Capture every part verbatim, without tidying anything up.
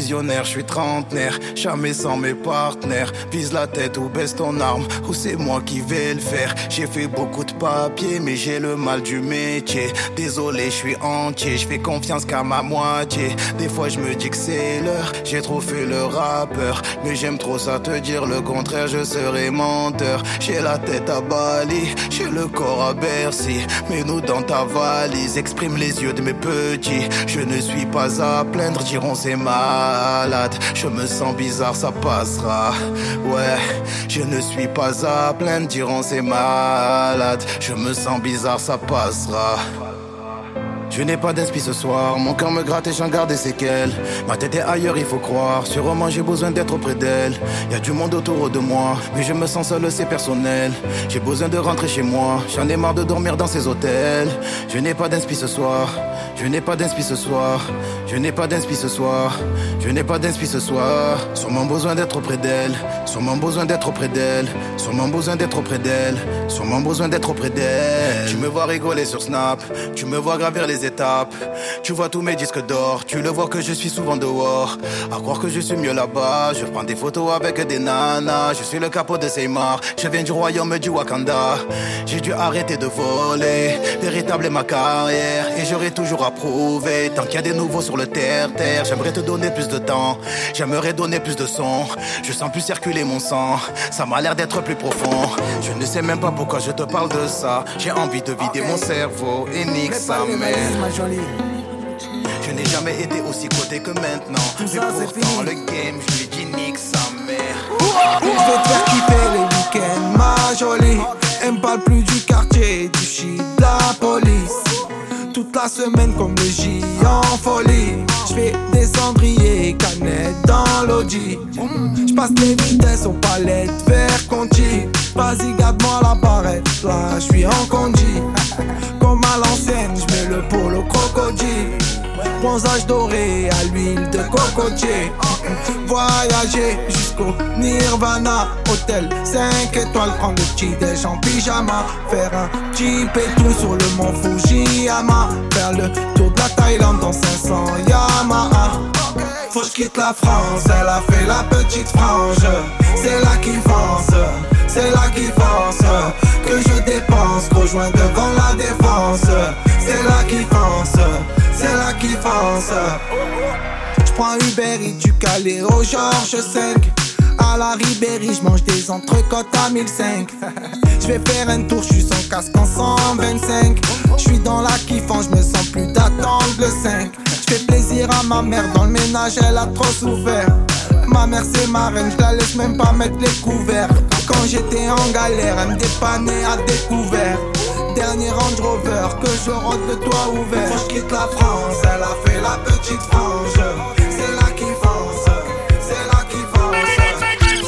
visionnaire, je suis trentenaire, jamais sans mes partenaires. Vise la tête ou baisse ton arme, ou c'est moi qui vais le faire. J'ai fait beaucoup de papier, mais j'ai le mal du métier. Désolé, je suis entier, je fais confiance qu'à ma moitié. Des fois je me dis que c'est l'heure, j'ai trop fait le rappeur. Mais j'aime trop ça te dire le contraire, je serai menteur. J'ai la tête à Bali, j'ai le corps à Bercy. Mets-nous dans ta valise, exprime les yeux de mes petits. Je ne suis pas à plaindre, diront c'est malade. Je me sens bizarre, ça passera. Ouais, je ne suis pas à plaindre, diront c'est malade. Je me sens bizarre, ça passera. Je n'ai pas d'inspi ce soir, mon cœur me gratte et j'en garde des séquelles. Ma tête est ailleurs, il faut croire, sûrement j'ai besoin d'être auprès d'elle. Y'a du monde autour de moi, mais je me sens seul, c'est personnel. J'ai besoin de rentrer chez moi, j'en ai marre de dormir dans ces hôtels. Je n'ai pas d'inspi ce soir, je n'ai pas d'inspi ce soir. Je n'ai pas d'inspi ce soir, je n'ai pas d'inspi ce soir. Sûrement besoin d'être auprès d'elle, sûrement besoin d'être auprès d'elle. Sûrement besoin d'être auprès d'elle, sûrement besoin d'être auprès d'elle. Tu me vois rigoler sur Snap, tu me vois gravir les étapes. Tu vois tous mes disques d'or, tu le vois que je suis souvent dehors. À croire que je suis mieux là-bas, je prends des photos avec des nanas. Je suis le capot de Seymour, je viens du royaume du Wakanda. J'ai dû arrêter de voler, véritable est ma carrière. Et j'aurai toujours à prouver, tant qu'il y a des nouveaux sur le terre-terre. J'aimerais te donner plus de temps, j'aimerais donner plus de son. Je sens plus circuler mon sang, ça m'a l'air d'être plus profond. Je ne sais même pas pourquoi je te parle de ça. J'ai envie de vider okay. mon cerveau et nique sa mère. Je n'ai jamais été aussi coté que maintenant. Mais pourtant le game, je lui dis nique sa mère. Je vais te faire kiffer les week-ends, ma jolie. Elle me parle plus du quartier, du shit, de la police. Toute la semaine comme le J en folie. J'fais des cendriers, canettes dans l'audi. J'passe les vitesses aux palettes, vers Conti. Vas-y garde-moi la barrette, là j'suis en condi. Comme à l'ancienne, j'mets le polo crocodile. Bronzage doré à l'huile de cocotier. Voyager jusqu'au Nirvana. Hôtel cinq étoiles, prendre le petit déj en pyjama. Faire un petit pétou sur le mont Fujiyama. Faire le tour de la Thaïlande dans cinq cents Yamaha. Faut que j'quitte la France, elle a fait la petite frange. C'est là qui fonce, c'est là qui fonce. Que je dépense, rejoins devant la défense. C'est là qui fonce, c'est là qui fonce. J'prends Uber Eats du Calais au Georges cinq. À la Ribéry, j'mange des entrecôtes à mille cinq. J'vais faire un tour, j'suis sans casque en cent vingt-cinq. J'suis dans la kiffance, j'me sens plus d'attendre le cinq. J'fais plaisir à ma mère, dans le ménage elle a trop souffert. Ma mère c'est ma reine, j'la laisse même pas mettre les couverts. Quand j'étais en galère, elle me dépannait à découvert. Dernier Range Rover, que je rentre le toit ouvert. Faut que j'quitte la France, elle a fait la petite frange. C'est là qui fonce, c'est là qui fonce.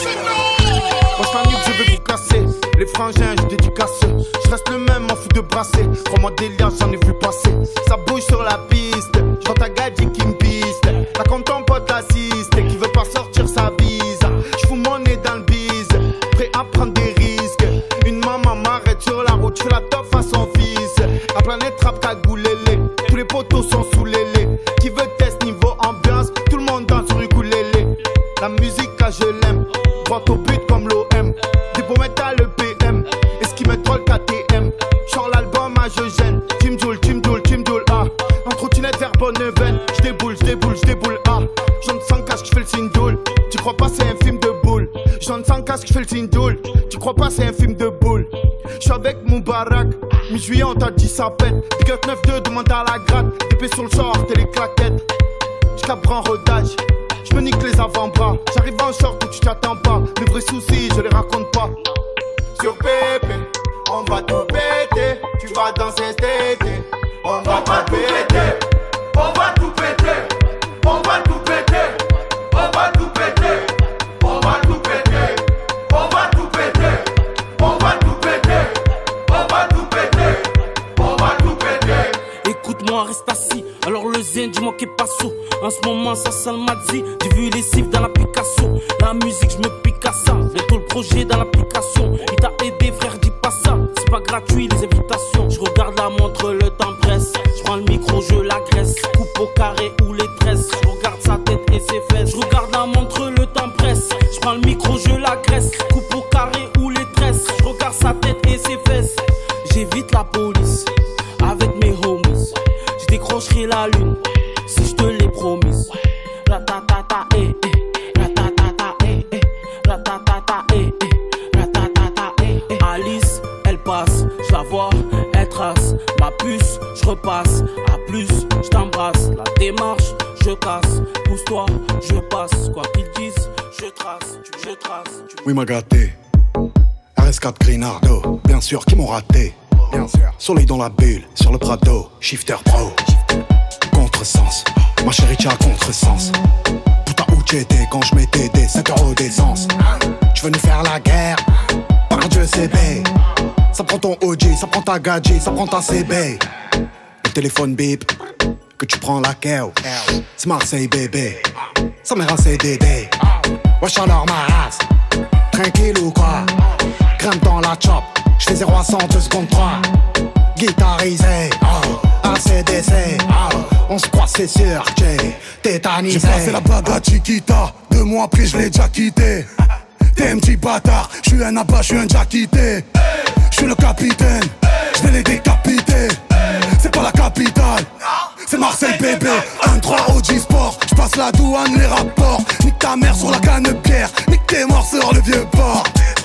Moi c'est un nuque, je veux vous casser. Les frangins, je dédicace. Je reste le même, m'en fous de brasser. Crois-moi délire, j'en ai vu passer. Ça bouge sur la piste, je vois ta gadget qui me piste. T'as comme ton pote assiste, qui veut pas sortir sa bise. Je fous mon nez dans le bise, prêt à prendre des risques. Une maman m'arrête sur la route, je fais la top à son fils. La planète trappe cagoulélé, tous les poteaux sont sous lélé. Qui veut test niveau ambiance, tout le monde danse sur ukulélé. La musique, ah, je l'aime, droit au but comme l'O M. Des beaux métal le P M, et ce qui me troll K T M. Genre l'album, ah, je gêne. Team Joule, Team Joule, Team Joule, ah. En trottinette vers Bonneven, j'déboule, j'déboule, j'déboule, ah. J'entre sans casque, j'fais le signe d'oule. Tu crois pas, c'est un film de boule. J'entre sans casque, j'fais le signe d'oule. Tu crois pas, c'est un film de boule. J'suis avec mon baraque, mi-juillet on t'a dit ça pète. Big up neuf deux, demande à la gratte. Épée sur le short et les claquettes. J'cabre en rodage, j'me nique les avant-bras. J'arrive en short où tu t'attends pas. Mes vrais soucis, je les raconte pas. Sur Pépé, on va tout péter. Tu vas danser cet été. On va pas péter. On va tout péter. On va tout péter. On va tout péter. On va tout péter. On va tout péter. On va tout péter. On va tout péter. On va tout péter. Écoute-moi, reste assis. Alors le zen, dis-moi qu'est pas sous. En ce moment, ça sent le Madzi. J'ai vu les cifs dans l'application. La musique, je me pique à ça. Bientôt le projet dans l'application. Il t'a aidé, frère, dis pas ça. C'est pas gratuit, les invitations. Je regarde la montre, le temps presse. Je prends le micro, je l'agresse. Coupe au carré ou les tresses. Je regarde sa tête et ses fesses. baisse. Je regarde la montre, le temps presse. Je prends le micro, je l'agresse. Coupe au carré ou les tresses. Je regarde sa tête et ses fesses. J'évite la police avec mes homies. Je décrocherai la lune si je te l'ai promise. Ratatata, eh, eh. Ratatata, eh, eh. Ratatata, eh, eh. Ratatata, eh, eh. Alice, elle passe, je la vois, elle trace. Ma puce, je repasse. À plus, je t'embrasse. La démarche, je casse. Pousse-toi, je passe. Quoi qu'ils disent, je trace, je trace. Oui, m'a gâté. R S quatre Grinardo, bien sûr, qui m'ont raté. Bien sûr. Soleil dans la bulle, sur le Prado, shifter pro. Contresens, ma chérie, t'as contresens. Putain, où t'étais quand je mettais des cinq euros d'essence? Tu veux nous faire la guerre? Par Dieu, c'est B. Ça prend ton O G, ça prend ta gadget, ça prend ta C B. Le téléphone bip, que tu prends la keo. C'est Marseille, bébé. Ça m'est un C D D. Wesh alors ma race, tranquille ou quoi? Grimpe dans la chop, j'fais zéro à cent deux secondes trois. Guitarisé, oh, A C D C, oh, on se croit c'est sûr que j'ai tétanisé. J'ai passé la bague à Chiquita, deux mois après je l'ai déjà quitté. T'es un petit bâtard, j'suis un abat, j'suis un déjà quitté. J'suis le capitaine, j'vais les décapiter. C'est pas la capitale, c'est Marseille bébé. un trois O G Sport, j'passe la douane, les rapports. Nique ta mère sur la canne pierre, nique tes morts sur le vieux port.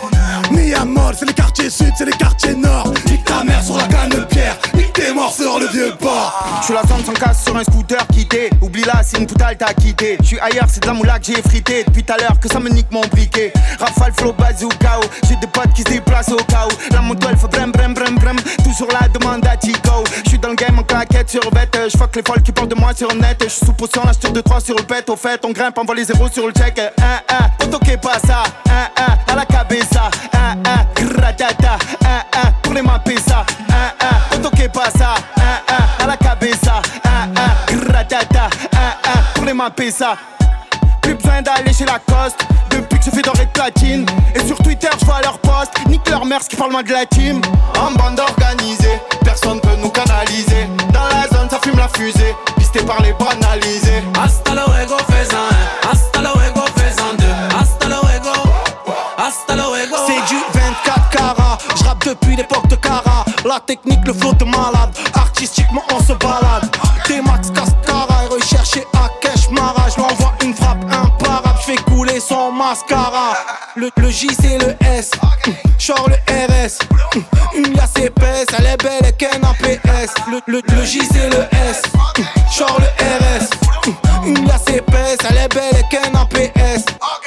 Miamol, c'est les quartiers sud, c'est les quartiers nord. Nique ta mère sur la canne pierre, nique tes morts sur le vieux port. J'suis la zone sans casse sur un scooter quitté. Oublie là, c'est une poutale t'as quitté. J'suis ailleurs, c'est de la moula que j'ai frité. Depuis tout à l'heure que ça me nique mon briquet. Rafale, flow, bazooka. J'ai des potes qui se déplacent au cas où. La moto elle fait brem brem brem brem. Tout sur la demande à Tico. J'suis dans le game en claquette sur bête. J'fuck les folles qui parlent de moi sur net. J'suis sous potion, la tire de trois sur le pet. Au fait, on grimpe, envoie les zéros sur le check. Un, un, on toque pas ça. Un, un, à la cabeza. Un, un, gratata. Un, un, pour les mapper ça. Un, un, on toque pas ça. Un, un, à la cabeza. Un, un, gratata. Un, un, pour les mapper ça. Plus besoin d'aller chez Lacoste. Depuis que je fais doré de platine. Et sur Twitter je vois leur post. Nique leur mère, ce qui parle moins de la team. En bande organisée, personne peut nous canaliser. Dans la zone ça fume la fusée. Pisté par les banalisés. Hasta luego faisant un, hasta luego faisant deux, hasta luego, hasta luego. C'est du vingt-quatre carats, j'rappe depuis l'époque de Cara. La technique, le flow de malade, artistiquement on se balade. T-Max, Cascara, et recherché à Cash Mara. J'l'envoie une frappe imparable, j'fais couler son mascara. Le, le J c'est le S, genre le R S. Une liasse épaisse, elle est belle et qu'un A P S. Le, le, le J c'est le S, genre le R S. Une liasse épaisse, elle est belle et qu'un A P S.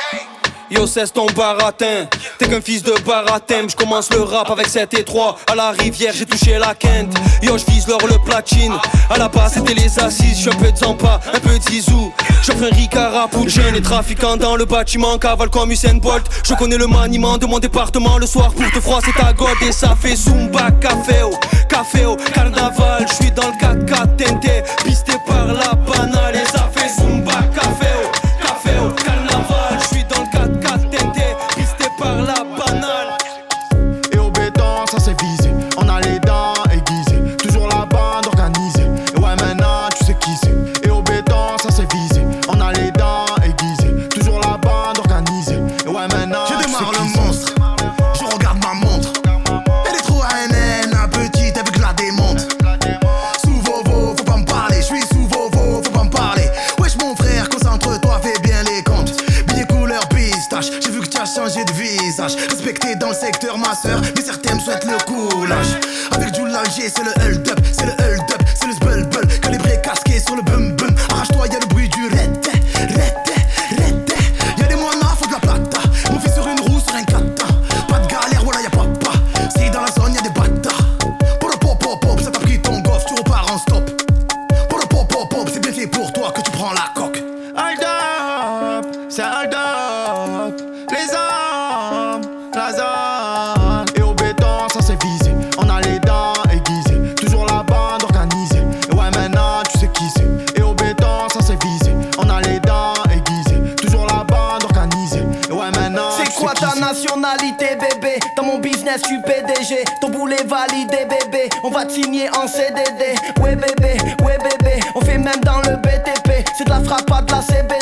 Yo cesse ton baratin, t'es qu'un fils de baratin. J'commence le rap avec sept et trois. À la rivière j'ai touché la quinte. Yo j'vise l'or le platine. À la base c'était les assises. J'suis un peu de Zampa, un peu de Zizou. J'offre un Ricard pour jeunes et trafiquants dans le bâtiment. Cavale comme Usain Bolt. Je connais le maniement de mon département. Le soir pour te froisser ta gold. Et ça fait Zumba, caféo, caféo, carnaval. J'suis dans le quatre quatre tenté, pisté par la banale. Et ça fait Zumba, caféo, caféo, carnaval. J'suis dans le quatre quatre tenté, pisté par la banale. Et au béton ça c'est visé. On a les dents aiguisées. Toujours la bande organisée. Et ouais maintenant tu sais qui c'est. Et au béton ça c'est visé. On a les dents aiguisées. Toujours la bande organisée. Et ouais maintenant Je tu sais démarre qui le c'est. monstre, je regarde ma montre. Elle est trop A N N, un petit, elle veut que je la démonte. Sous Vovo, faut pas me parler, je suis sous Vovo, faut pas me parler. Wesh mon frère, concentre-toi, fais bien les comptes. Billet couleur pistache, j'ai vu que tu as changé de visage. Respecté dans le secteur ma soeur, mais certains me souhaitent le coulage. Avec du G, c'est le hold-up, c'est le hold-up, c'est le zbul-bul. Calibré, casqué sur le bum-bum. Arrache-toi, y'a le bruit du red, red, red. Y'a des moinas, faut de la plata. Mon fils sur une roue, sur un kata. Pas de galère, voilà y'a papa. Si dans la zone y'a des bâtards. Pour le pop pop pop, ça t'a pris ton goff, tu repars en stop. Pour le pop pop pop, c'est bien fait pour toi que tu prends la coque. Hold up, c'est hold up. Les hommes, la zone. Et au béton, ça c'est visé. On a les dents aiguisées. Toujours la bande organisée. Et ouais, maintenant tu sais qui c'est. Et au béton, ça c'est visé. On a les dents aiguisées. Toujours la bande organisée. Et ouais, maintenant. C'est tu quoi sais qui ta nationalité bébé? Dans mon business je suis P D G. Ton boulet validé bébé. On va te signer en C D D. Ouais bébé, ouais bébé. On fait même dans le B T P. C'est de la frappe, pas de la C B D.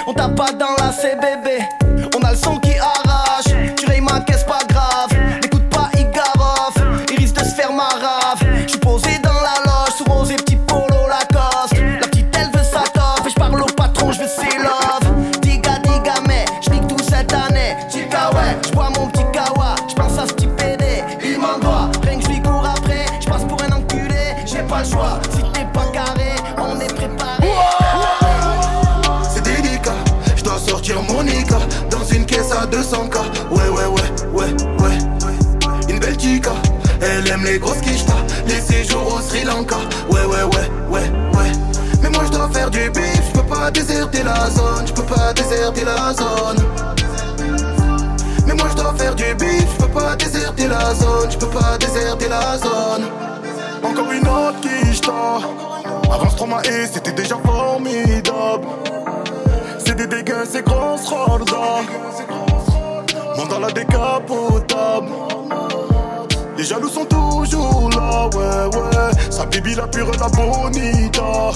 On tape pas dans la C B B. On a le son qui arrache. Tu rayes ma caisse, pas grave. N'écoute pas Igarov, il risque de se faire ma rave. J'suis posé dans la loge, sous rose et petit polo Lacoste. La petite elle veut sa top et j'parle au patron, j'veux ses love. Diga diga mais j'nique tout cette année. Chica ouais, j'bois mon petit kawa. J'pense à ce petit P D, il m'en doit. Rien que j'lui cours après, j'passe pour un enculé. J'ai pas le choix, si t'es pas carré, on est préparé. C'est délicat, j'dois sortir mon Nika dans une caisse à deux cents K. Ouais ouais ouais ouais ouais. Une belle chica, elle aime les grosses quichetas, les séjours au Sri Lanka. Ouais ouais ouais ouais ouais. Mais moi j'dois faire du bif, j'peux pas déserter la zone, j'peux pas déserter la zone. Mais moi j'dois faire du bif, j'peux pas déserter la zone, j'peux pas déserter la zone. Encore une autre quicheta. Avant Stroma et c'était déjà formidable. C'est des dégâts, c'est grosse rolda. Monte dans la décapotable. Les jaloux sont toujours là, ouais, ouais. Sa bibi la pure, la bonita.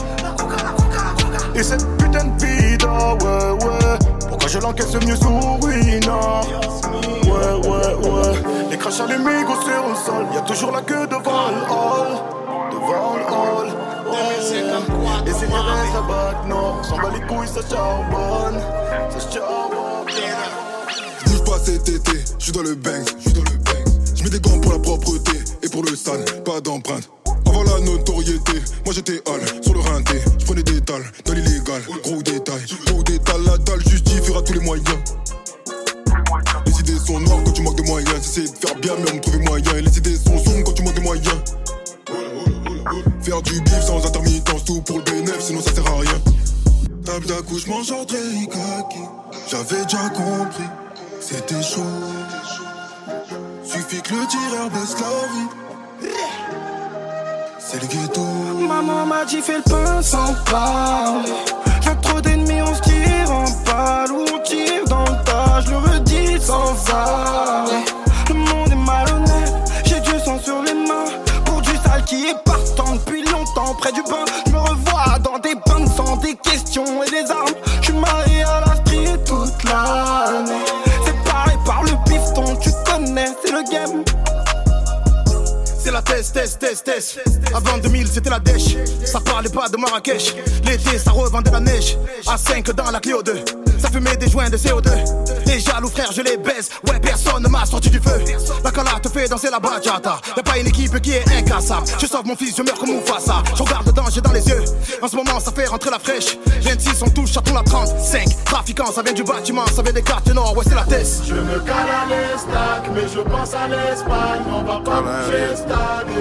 Et cette putain de vida, ouais, ouais. Pourquoi je l'encaisse mieux sous ruina? Ouais, ouais, ouais. Les crashs à l'amigo sur le sol. Y'a toujours la queue devant le hall. Devant le hall, ouais. Et c'est les restes à bac, non. On s'en bat les couilles, ça charbonne. Ça charbonne. J'bouge pas cet été, j'suis dans le bang, j'suis dans le bang. J'mets des gants pour la propreté et pour le sale, pas d'empreinte. Avant la notoriété, moi j'étais hall sur le rinté. J'prenais des dalles dans l'illégal, gros détail. Gros détail, la dalle justifiera tous les moyens. Les idées sont noires quand tu manques de moyens. J'essaie de faire bien mais on me trouver moyen. Et les idées sont sombres quand tu manques de moyens. Faire du bif sans intermittence, tout pour le bénéfice, sinon ça sert à rien. Table d'accouchement, genre Kaki. J'avais déjà compris, c'était chaud. Suffit que le tireur baisse la vie. C'est le ghetto. Maman m'a dit fais le pain sans parler. J'ai trop d'ennemis, on se tire en balle ou on tire dans le tas. Je le redis sans arrêt. Le monde est malhonnête, j'ai du sang sur les mains. Pour du sale qui est partant depuis longtemps près du bain. Je me revois dans des bains de sang, des questions et des armes. Je suis marié à la street toute l'année. Séparé par le piston, tu connais, c'est le game. C'est la test, test, test, test. Avant deux mille, c'était la dèche. Ça parlait pas de Marrakech. L'été, ça revendait la neige. A cinq dans la Clio deux. Ça fumait des joints de C O deux. Les jaloux frères, je les baise. Ouais, personne ne m'a sorti du feu. La cala te fait danser la bachata. Y'a pas une équipe qui est incassable. Je sauve mon fils, je meurs comme Mufasa. Je regarde le danger dans les yeux. En ce moment, ça fait rentrer la fraîche. vingt-six, on touche à tout la trente-cinq. Trafiquant, ça vient du bâtiment, ça vient des quartiers nord. Ouais, c'est la test. Je me cale à l'estac, mais je pense à l'Espagne. On va pas bouger stade.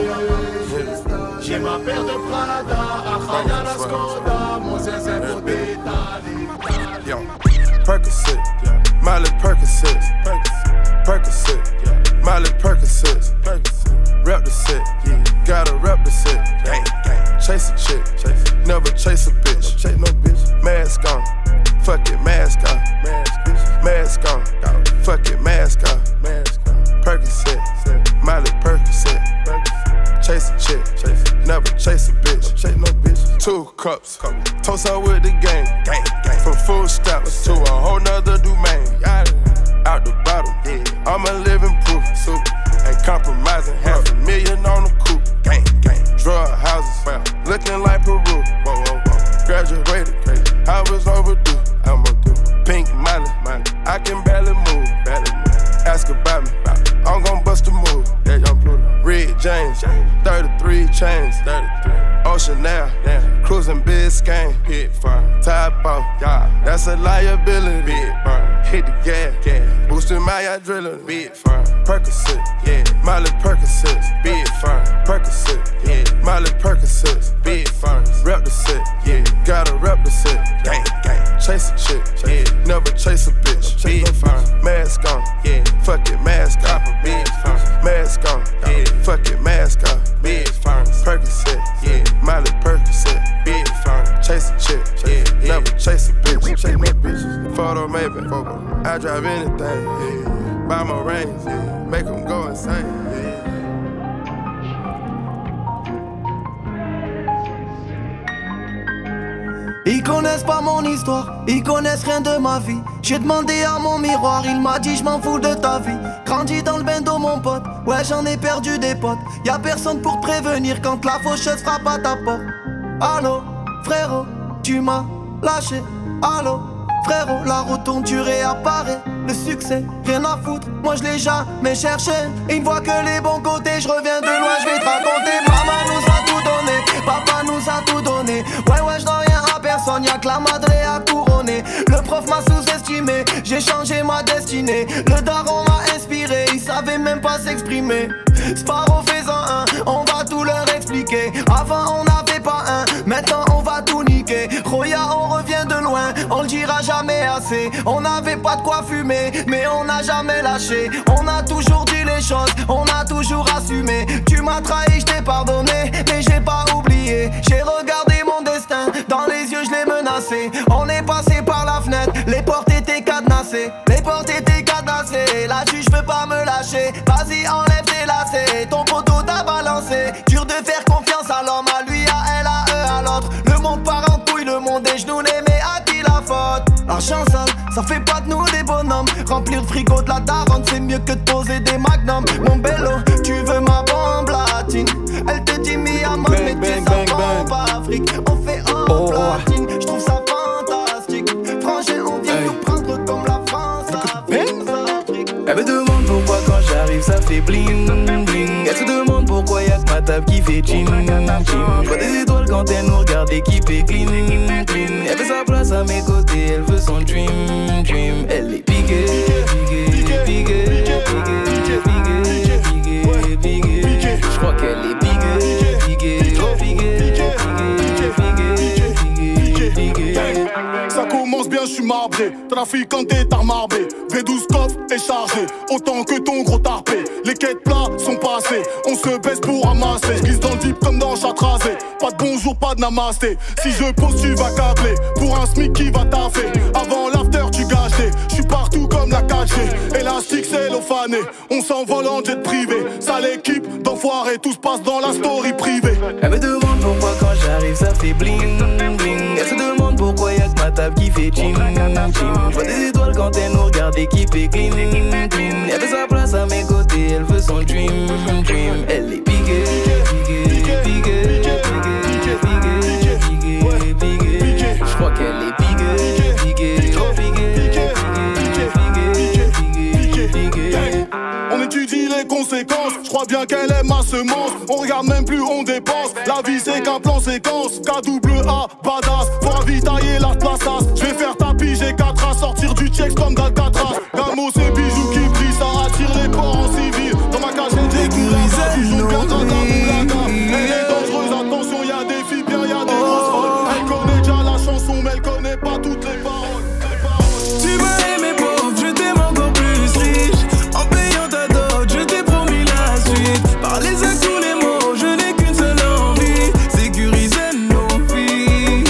J'ai ma paire de Prada, Akhaya la Skoda, mon zinzin faut détaler. Yo, Percocet, Miley Percocet, Percocet, Miley Percocet, rep the set, gotta rep the set, chase a chick, never chase a bitch, chase no bitch, mask on, fuck it, mask on, mask on, fuck it, mask on, Percocet, Miley Percocet, chase a chick, never chase a bitch, chase no bitch. Two cups, toast out with the gang, gang, gang. From food stamps to a whole nother domain. Out the bottom, I'm a living proof. Super, ain't compromising. Half a million on the coupe, gang, gang. Drug houses, looking like Peru. Whoa, whoa, whoa. Graduated, I was overdue. I'm overdue. Pink money, money. I can barely move, barely move. Ask about me, I'm gon' bust a move. Yeah, young blue. Red James, thirty-three chains, thirty-three. Ocean now, cruising Biscayne, hit fire. Top off, yeah, that's a liability. Big fire. Hit the gas, gas. Boosting my adrenaline. Big fire. Percocet, yeah. Miley Percocet, big fire. Percocet, yeah. Miley Percocet, big fire. Rep the set, yeah. Gotta rep the set, gang, gang. Chase a chick, yeah. Never chase a bitch, big fire. Mask on, yeah. Fuck it, mask on, big fire. Mask on, yeah. Fuck it, mask on, big fire. Percocet, yeah. Miley Percocet, big fire. Chase a chick, yeah. Never chase a bitch, chase no bitch. Photo maybe, I drive anything, yeah. Buy my range, yeah. Make them go insane, yeah. Ils connaissent pas mon histoire, ils connaissent rien de ma vie. J'ai demandé à mon miroir, il m'a dit je m'en fous de ta vie. Grandi dans le bendo mon pote, ouais j'en ai perdu des potes. Y'a personne pour te prévenir quand la faucheuse frappe à ta porte. Allô, frérot, tu m'as lâché. Allô, frérot, la route tourne, tu réapparais. Le succès, rien à foutre, moi je l'ai jamais cherché. Il me voit que les bons côtés, je reviens de loin, je vais te raconter. Maman nous a tout donné, papa nous a tout donné. Ouais ouais, je dois rien à personne, y'a que la madre à couronner. Le prof m'a sous-estimé, j'ai changé ma destinée. Le daron m'a inspiré, il savait même pas s'exprimer. Sparrow faisant un, on va tout leur expliquer. Avant on n'avait pas un, maintenant on va tout niquer. Roya on revient de loin, on le dira jamais assez. On n'avait pas de quoi fumer, mais on n'a jamais lâché. On a toujours dit les choses, on a toujours assumé. Tu m'as trahi, je t'ai pardonné, mais j'ai pas oublié. J'ai regardé mon destin, dans les yeux je l'ai menacé. On est passé par la fenêtre, les portes étaient cadenassées. Les portes étaient cadenassées, là-dessus je peux pas me lâcher. Vas-y enlève tes lacets, ton poteau t'a balancé. Dur de faire confiance à l'homme, à lui, à elle, à eux, à l'autre. Le monde part en couille, le monde est genoux, mais à qui la faute? L'argent sale, ça fait pas de nous des bonhommes. Remplir le frigo de la daronne, c'est mieux que de poser des magnums. Mon bello, tu veux ma bombe latine? Elle te dit mi à mode, mais tu ça bombe Afrique. On fait en oh, platine, je trouve ça fantastique. Frangin, on vient hey. Nous prendre comme la France Afrique. Elle me demande pourquoi quand j'arrive ça fait bling bling. Elle se demande pourquoi y'a que ma table qui fait chin chin. J'vois des étoiles quand elle nous regarde et qui fait clean clean. Elle veut sa place à mes côtés, elle veut son dream dream. Elle est piquée, piquée, piquée, piquée, piquée, piquée. J'crois qu'elle est piquée, piquée, oh piquée, piquée, piquée, piquée. Ça commence bien, je suis marbré. Trafiquant est armarbé. V douze coffre est chargé, autant que ton gros tarpé. Les quêtes plats sont passés, on se baisse pour ramasser. Je glisse dans le deep comme dans chat rasé. Pas de bonjour, pas de namasté. Si je pose, tu vas câbler pour un smic qui va taffer. Avant l'after, tu gages des. Je suis partout comme la quatre G. Élastique, c'est l'ophané. On s'envole en jet privé. Ça l'équipe d'enfoirés, tout se passe dans la story privée. Elle me demande pourquoi quand j'arrive, ça fait bling bling. Elle se demande pourquoi y'a que ma table qui fait chin chin. J'vois des étoiles quand elle nous regarde et qui fait clean clean. Elle veut sa place à mes côtés, elle veut son dream dream. Elle est piquée, piquée, piquée, piquée, piquée, piquée. J'crois qu'elle est piquée, piquée, oh piquée, piquée, piquée, piquée. On étudie les conséquences, je crois bien qu'elle aime ma semence. On regarde même plus, on dépense. La vie c'est qu'un plan séquence. K W A, badass. Faut ravitailler la plaçasse. Je vais faire tapis, j'ai quatre à sortir du checks comme d'Alcatraz. Gamo c'est bijoux qui brillent, ça attire les porcs en civil. Dans ma cage j'ai des couleurs, du jour bien dans la boulaga. Elle est dangereuse, attention y'a des filles bien, y'a des grosses folles. Elle connaît déjà la chanson mais elle connaît pas toutes les paroles. Tu m'as aimé pauvre, je t'aime encore plus riche. En payant ta dot, je t'ai promis la suite. Par les actes tous les mots, je n'ai qu'une seule envie. Sécuriser nos vies.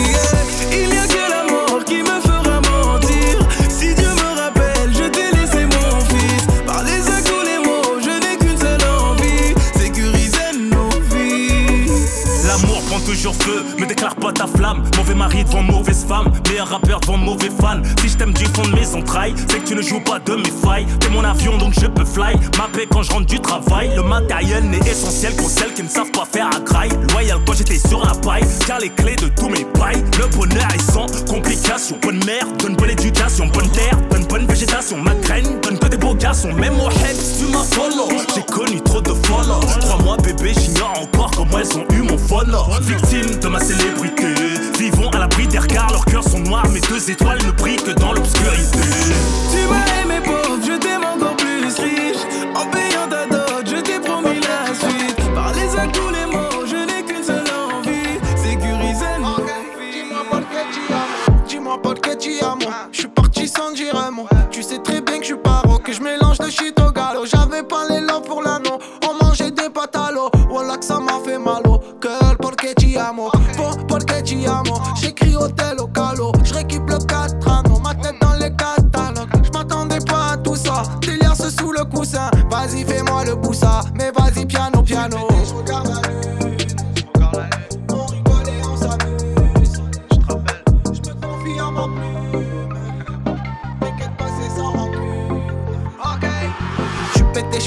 Il n'y a que la mort qui me fera mentir. Si Dieu me rappelle, je t'ai laissé mon fils. Par les actes tous les mots, je n'ai qu'une seule envie. Sécuriser nos vies. L'amour prend toujours feu, me déclare pas ta flamme. Mauvais mari devant mauvaise femme, meilleur rappeur devant mauvais fan. Si je t'aime du fond de mes entrailles, c'est que tu ne joues pas de mes failles. T'es mon avion donc je peux fly, ma paix quand je rentre du travail. Le matériel n'est essentiel qu'aux celles qui ne savent pas faire à graille. Loyal quand j'étais sur la paille, car les clés de tous mes bails. Le bonheur est sans complication. Bonne mère, donne bonne éducation. Bonne terre, donne bonne végétation. Ma graine, donne que des beaux garçons. Même au head, tu m'as follow. J'ai connu trop de follow. Crois-moi bébé, j'ignore encore comment elles ont eu mon follow. Victime de ma célébrité, vivons à l'abri des regards. Leurs cœurs sont noirs, mes deux étoiles ne brillent que dans l'obscurité. Tu m'as aimé pauvre, je t'aime encore plus riche. En payant ta dot, je t'ai promis la suite. Par les actes tous les mots, je n'ai qu'une seule envie. Sécuriser nos vies. Dis-moi pas que tu as, dis-moi pas que tu as moi. Je suis parti sans dire un mot. Tu sais très bien que je suis paro, que je mélange de shit au galop. J'avais pas les love pour l'anneau. On mangeait des pâtes à l'eau. Voilà que ça m'a fait mal au cœur. Porque ti amo, porque ti amo. J'écris hôtel au calo. J'réquipe le quatre anneaux. Ma tête dans les catalogues. J'm'attendais pas à tout ça. Délire sous le coussin. Vas-y fais-moi le boussa. Mais vas-y piano piano. J'regarde la lune, on rigole et on s'amuse.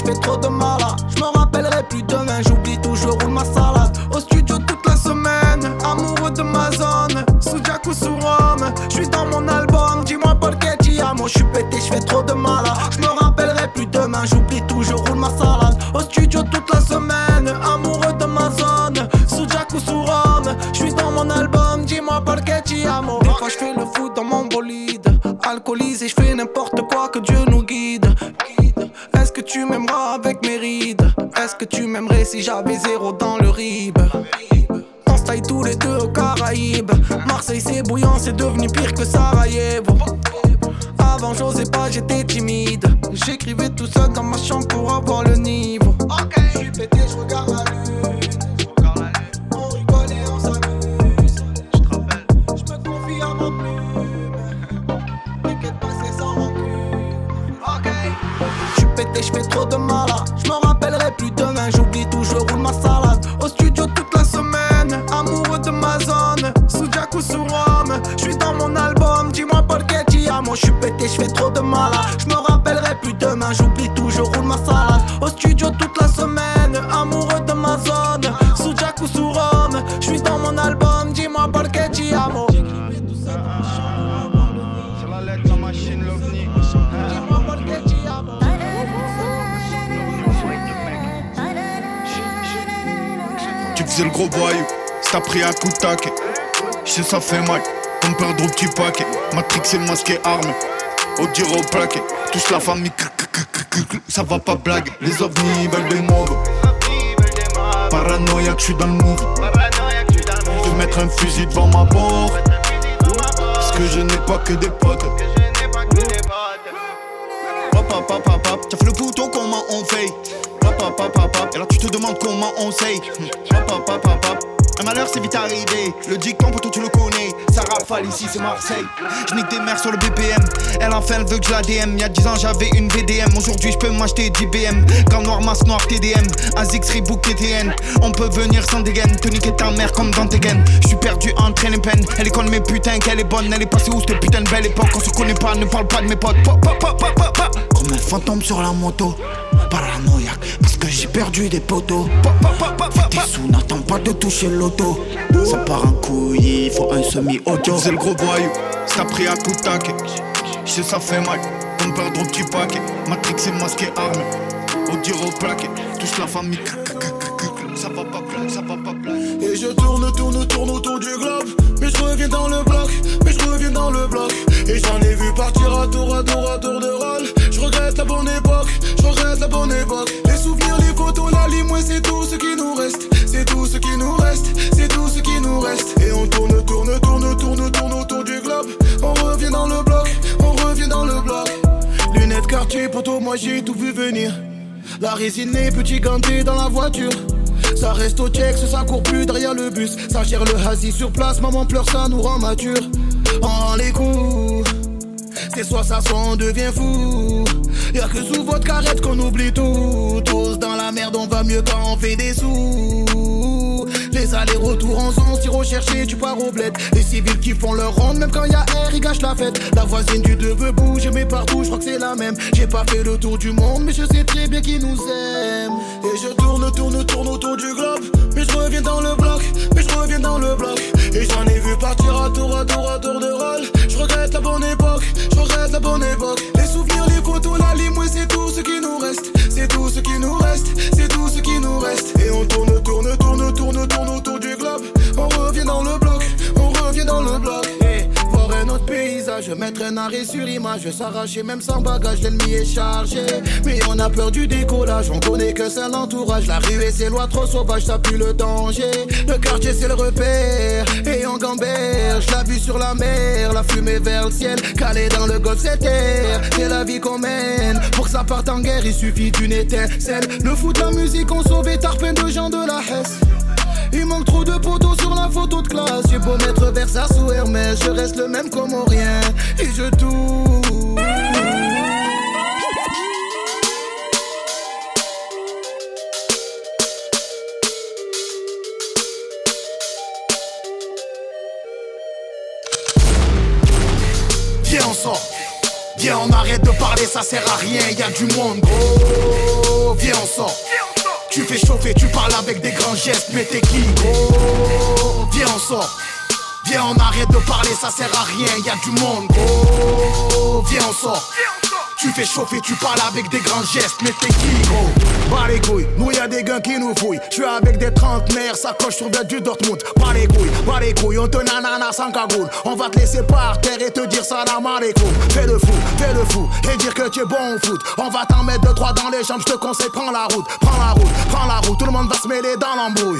j'fais trop de malade. J'me rappellerai plus demain, j'oublie tout, je roule ma salade. Au studio toute la semaine, amoureux de ma zone. Sous Jack ou sous Rome, j'suis dans mon album. Dis-moi Paul Ketty, moi j'suis pété, j'fais trop de malade. J'me rappellerai plus demain, j'oublie tout, je roule ma salade. Au studio toute la semaine, amoureux de ma zone. Sous Jack ou sous Rome, j'suis dans mon album. Dis-moi Paul Ketty, des fois j'fais le foot dans mon bolide. Alcoolisé, j'fais n'importe quoi, que Dieu nous guide. Est-ce que tu m'aimeras avec mes rides? Est-ce que tu m'aimerais si j'avais zéro dans le rib? On se taille tous les deux aux Caraïbes. Marseille c'est bouillant, c'est devenu pire que Sarajevo. Avant j'osais pas, j'étais timide. J'écrivais tout seul dans ma chambre pour avoir le niveau. Ok, j'suis pété, j'regarde la lune. On rigole et on s'amuse. J'me confie à ma plume. T'inquiète pas, c'est sans rancune. Ok, j'suis pété, j'fais trop de malade. J'me rappellerai plus demain, j'oublie tout, je roule ma salade. Au studio toute la semaine, amoureux de ma zone. Sous Jack ou sous Rome, j'suis dans mon album. Dis-moi Paul Ketty, moi j'suis pété, j'fais trop de malade. J'me rappellerai plus demain, j'oublie tout, je roule ma salade. Au studio toute la semaine, amoureux de ma zone. Sous Jack ou sous Rome, j'suis dans mon album. Dis-moi Paul Ketty, amo. Sur la lettre, la machine, l'ovni. Dis-moi Paul Ketty, amo. Tu faisais le gros voyou, ça pris un coup de taquet. J'sais ça fait mal, comme perdre au petit paquet. Matrix et le masqué armé, au dire au plaquet. Touche la famille, ça va pas blague. Les ovnis veulent des moves. Paranoïaque, j'suis dans le move. Je vais mettre un fusil devant ma porte. Parce que je n'ai pas que des potes. Hop hop hop hop hop. T'as fait le bouton, comment on fait? Hop hop hop hop hop. Et là tu te demandes comment on sait. Hop hop hop hop hop. Un malheur c'est vite arrivé. Le dicton pour toi tu le connais. Ça rafale ici c'est Marseille. Je nique des mères sur le B P M. Elle enfin elle veut que je la D M. Y'a dix ans j'avais une V D M. Aujourd'hui je peux m'acheter dix B M. Gants noir, masque noir, T D M. Azix, Reebok, T T N. On peut venir sans dégaine. Te niquer ta mère comme dans tes gaines. J'suis perdu entre elle et peine. Elle est conne mais putain qu'elle est bonne. Elle est passée où cette putain de belle époque. On se connaît pas, ne parle pas de mes potes. Pop, pop, pop, pop, pop. Comme un fantôme sur la moto. Paranoïaque parce que j'ai perdu des poteaux. T'es sous, n'attends pas de toucher l'auto. Ça part en couille, il faut un semi-auto. Tu faisais le gros voyou, ça pris un coup de taquet. J'sais ça fait mal, comme perdre au petit paquet. Matrix et masqué armé, au dire au plaquet. Touche la famille, ça va pas plaire, ça va pas plaire. Et je tourne, tourne, tourne autour du globe. Mais je reviens dans le bloc, mais je reviens dans le bloc. Et j'en ai vu partir à tour, à tour, à tour de rôle. Je regrette la bonne époque, je regrette la bonne époque. Les souvenirs, les photos, la lime, ouais c'est tout ce qui nous reste. C'est tout ce qui nous reste, c'est tout ce qui nous reste. Et on tourne, tourne, tourne, tourne, tourne autour du globe. On revient dans le bloc, on revient dans le bloc. Lunettes quartier, poteau, moi j'ai tout vu venir. La résinée, petit ganté dans la voiture. Ça reste au check, ça court plus derrière le bus. Ça gère le hasi sur place, maman pleure, ça nous rend mature. En les coups, c'est soit ça, soit on devient fou. Y'a que sous votre carrette qu'on oublie tout. Tous dans la merde, on va mieux quand on fait des sous. Les allers-retours en zone, si recherché, tu pars au bled. Les civils qui font leur ronde, même quand y'a air, ils gâchent la fête. La voisine du deux veut bouger, mais partout, je crois que c'est la même. J'ai pas fait le tour du monde, mais je sais très bien qui nous aime. Et je tourne, tourne, tourne autour du globe. Mais je reviens dans le bloc, mais je reviens dans le bloc. Et j'en ai vu partir à tour, à tour, à tour de rôle. Je regrette la bonne époque, je regrette la bonne époque. Les souvenirs, les photos, la lime, ouais c'est tout ce qui nous reste. C'est tout ce qui nous reste, c'est tout ce qui nous reste. Et on tourne, tourne, tourne, tourne, tourne autour du globe. On revient dans le bloc, on revient dans le bloc. Hey, voir un autre paysage, mettre un arrêt sur image. S'arracher même sans bagage, l'ennemi est chargé. Mais on a peur du décollage, on connaît que c'est l'entourage. La rue et ses lois trop sauvages, ça pue le danger. Le quartier c'est le repère, et on gamberge. La vue sur la mer, la fumée vers le ciel. Calé dans le golfe c'est terre, c'est la vie qu'on mène. Pour que ça parte en guerre, il suffit d'une étincelle. Le foot, la musique, on sauvé tarpin de gens de la Hesse. Il manque trop de poteaux sur la photo de classe. J'ai beau mettre Versace ou Hermès, je reste le même comme rien. Et je touche. Viens on sort, viens on arrête de parler, ça sert à rien, y'a du monde gros. viens on sort. Tu fais chauffer, tu parles avec des grands gestes, mais t'es qui gros? Viens on sort. Viens on arrête de parler, ça sert à rien, y'a du monde gros. Viens on sort. Tu fais chauffer, tu parles avec des grands gestes, mais t'es qui gros? Pas les couilles, nous y'a des gars qui nous fouillent. J'suis avec des trentenaires, ça coche sur du Dortmund. Pas les couilles, pas les couilles, on te nanana sans cagoule. On va te laisser par terre et te dire salam alaikum. Fais le fou, fais le fou, et dire que tu es bon au foot. On va t'en mettre deux trois dans les jambes, j'te conseille, prends la route. Prends la route, prends la route, tout le monde va se mêler dans l'embrouille.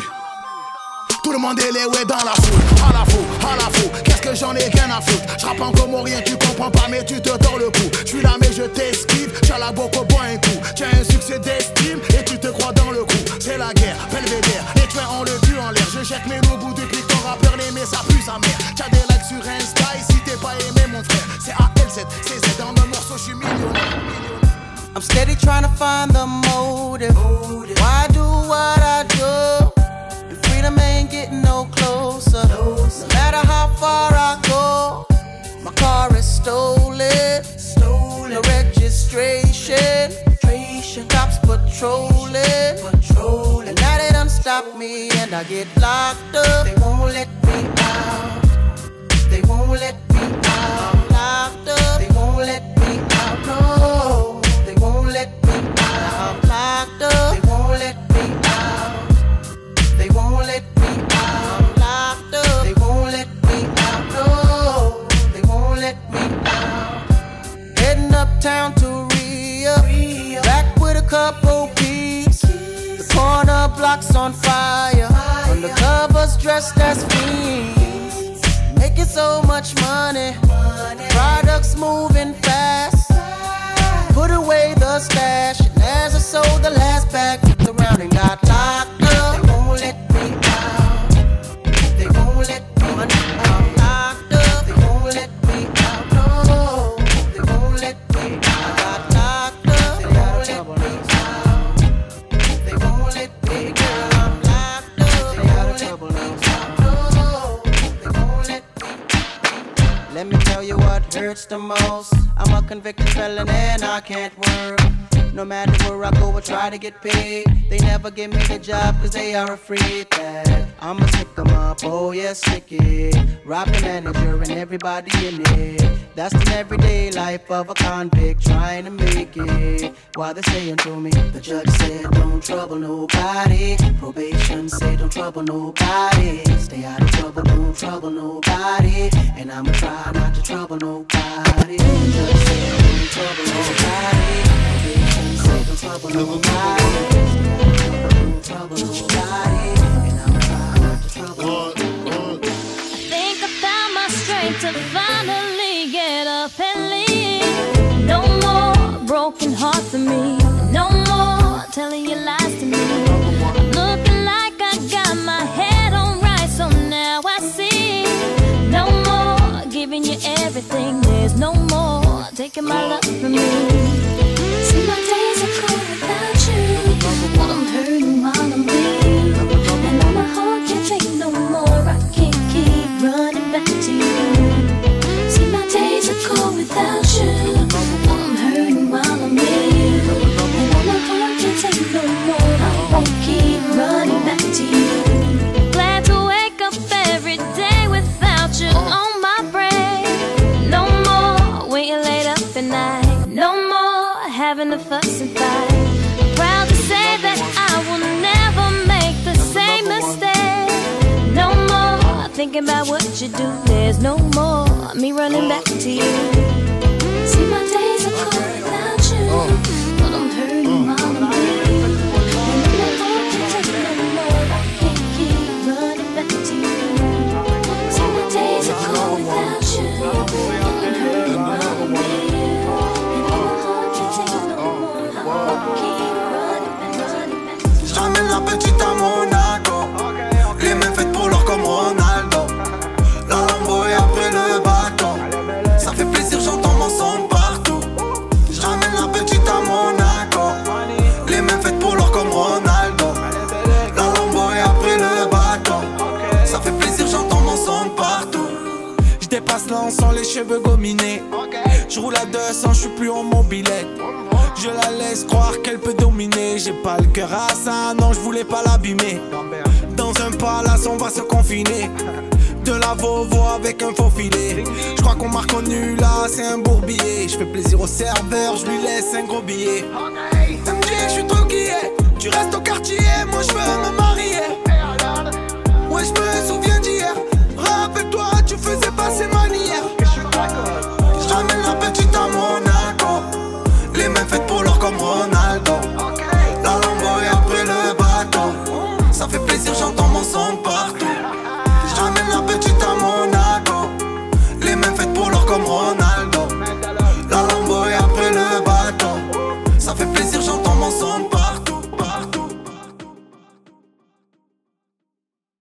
Tout le monde est les ouais dans la foule, à la fou, à la fou, qu'est-ce que j'en ai rien à foutre. J'rappe en comorien, tu comprends pas mais tu te tords le cou. J'suis là mais je t'esquive, j'ai la boque au bois un coup. Tiens un succès d'estime et tu te crois dans le coup. C'est la guerre, belvédère, les tuins ont le cul en l'air. Je jette mes loups bout depuis que ton rappeur l'aimait, ça pue sa mère. T'as des likes sur Insta et si t'es pas aimé mon frère, c'est A L Z, c'est Z dans le morceau, j'suis millionnaire. I'm steady trying to find the motive. Why do what I do? Freedom ain't getting no closer. No matter how far I go, my car is stolen. Stolen. No registration. Cops patrolling. Patrolling. And now they done stop me and I get locked up. They won't let me out. They won't let me out. Locked up. They won't let me out. No. They won't let me out. I'm locked up. They won't let me out. They won't let me out. I'm locked up. They won't let me out. No, they won't let me out. Heading uptown to Rio, Rio. Back with a couple peeps. The corner block's on fire. fire. Undercovers dressed as fiends. Making so much money. money. Products moving fast. Put away the stash. And as I sold the last bag, looked around and got locked up. They won't let me out. They won't let me out. I'm locked up. They won't let me out. No, they won't let me out. I got locked up. They won't let me out. They won't let me, girl. I'm locked up. They won't let me out. No, they won't let me. Let me tell you what hurts the most. I'm a convicted felon and I can't work. No matter where I go, I try to get paid. They never give me the job cause they are afraid that I'ma stick them up, oh yeah, stick it. Rob the manager and everybody in it. That's the everyday life of a convict trying to make it. While they're saying to me, the judge said don't trouble nobody. Probation said don't trouble nobody. Stay out of trouble, don't trouble nobody. And I'ma try not to trouble nobody. The judge said don't trouble nobody. Don't trouble nobody. Don't trouble nobody. And I'm trying not to trouble nobody. I think I found my strength to finally get up and leave. No more broken heart for me. No more telling you lies to me. I'm looking like I got my head on right, so now I see. No more giving you everything. There's no more taking my love from me. See, my days are cold without you, but I'm hurting while I'm with you. And now my heart can't take no more. I can't keep running back to you. See, my days are cold without you, but I'm hurting while I'm with you. And now my heart can't take no more. I won't keep running back to you. Glad to wake up every day without you on my brain. No more waiting late up at night. No more having to fuss and fight. I'm proud to say that I will never make the same mistake. No more thinking about what you do. There's no more me running back to you. See, my days are cold without you, but I'm hurting while I'm with you. And my heart can't take no more. I can't keep running back to you. See, my days are cold without you, but I'm hurting while I'm with you. J'ramène la petite à Monaco. Les mains faites pour l'or comme Ronaldo. La Lambo et après le bâton. Ça fait plaisir, j'entends mon son partout. J'ramène la petite à Monaco. Les mains faites pour l'or comme Ronaldo. La Lambo et après le bâton. Ça fait plaisir, j'entends mon son partout. J'dépasse l'an sans les cheveux gominés. J'roule à deux cents, j'suis plus en mobilette. Je la laisse croire qu'elle peut dominer. J'ai pas le cœur à ça, non je voulais pas l'abîmer. Dans un palace on va se confiner. De la Vovo avec un faux filet. Je crois qu'on m'a reconnu là, c'est un bourbier. Je fais plaisir au serveur, je lui laisse un gros billet. Elle me dit je suis trop guillé. Tu restes au quartier, moi je veux me marier. Ouais je me souviens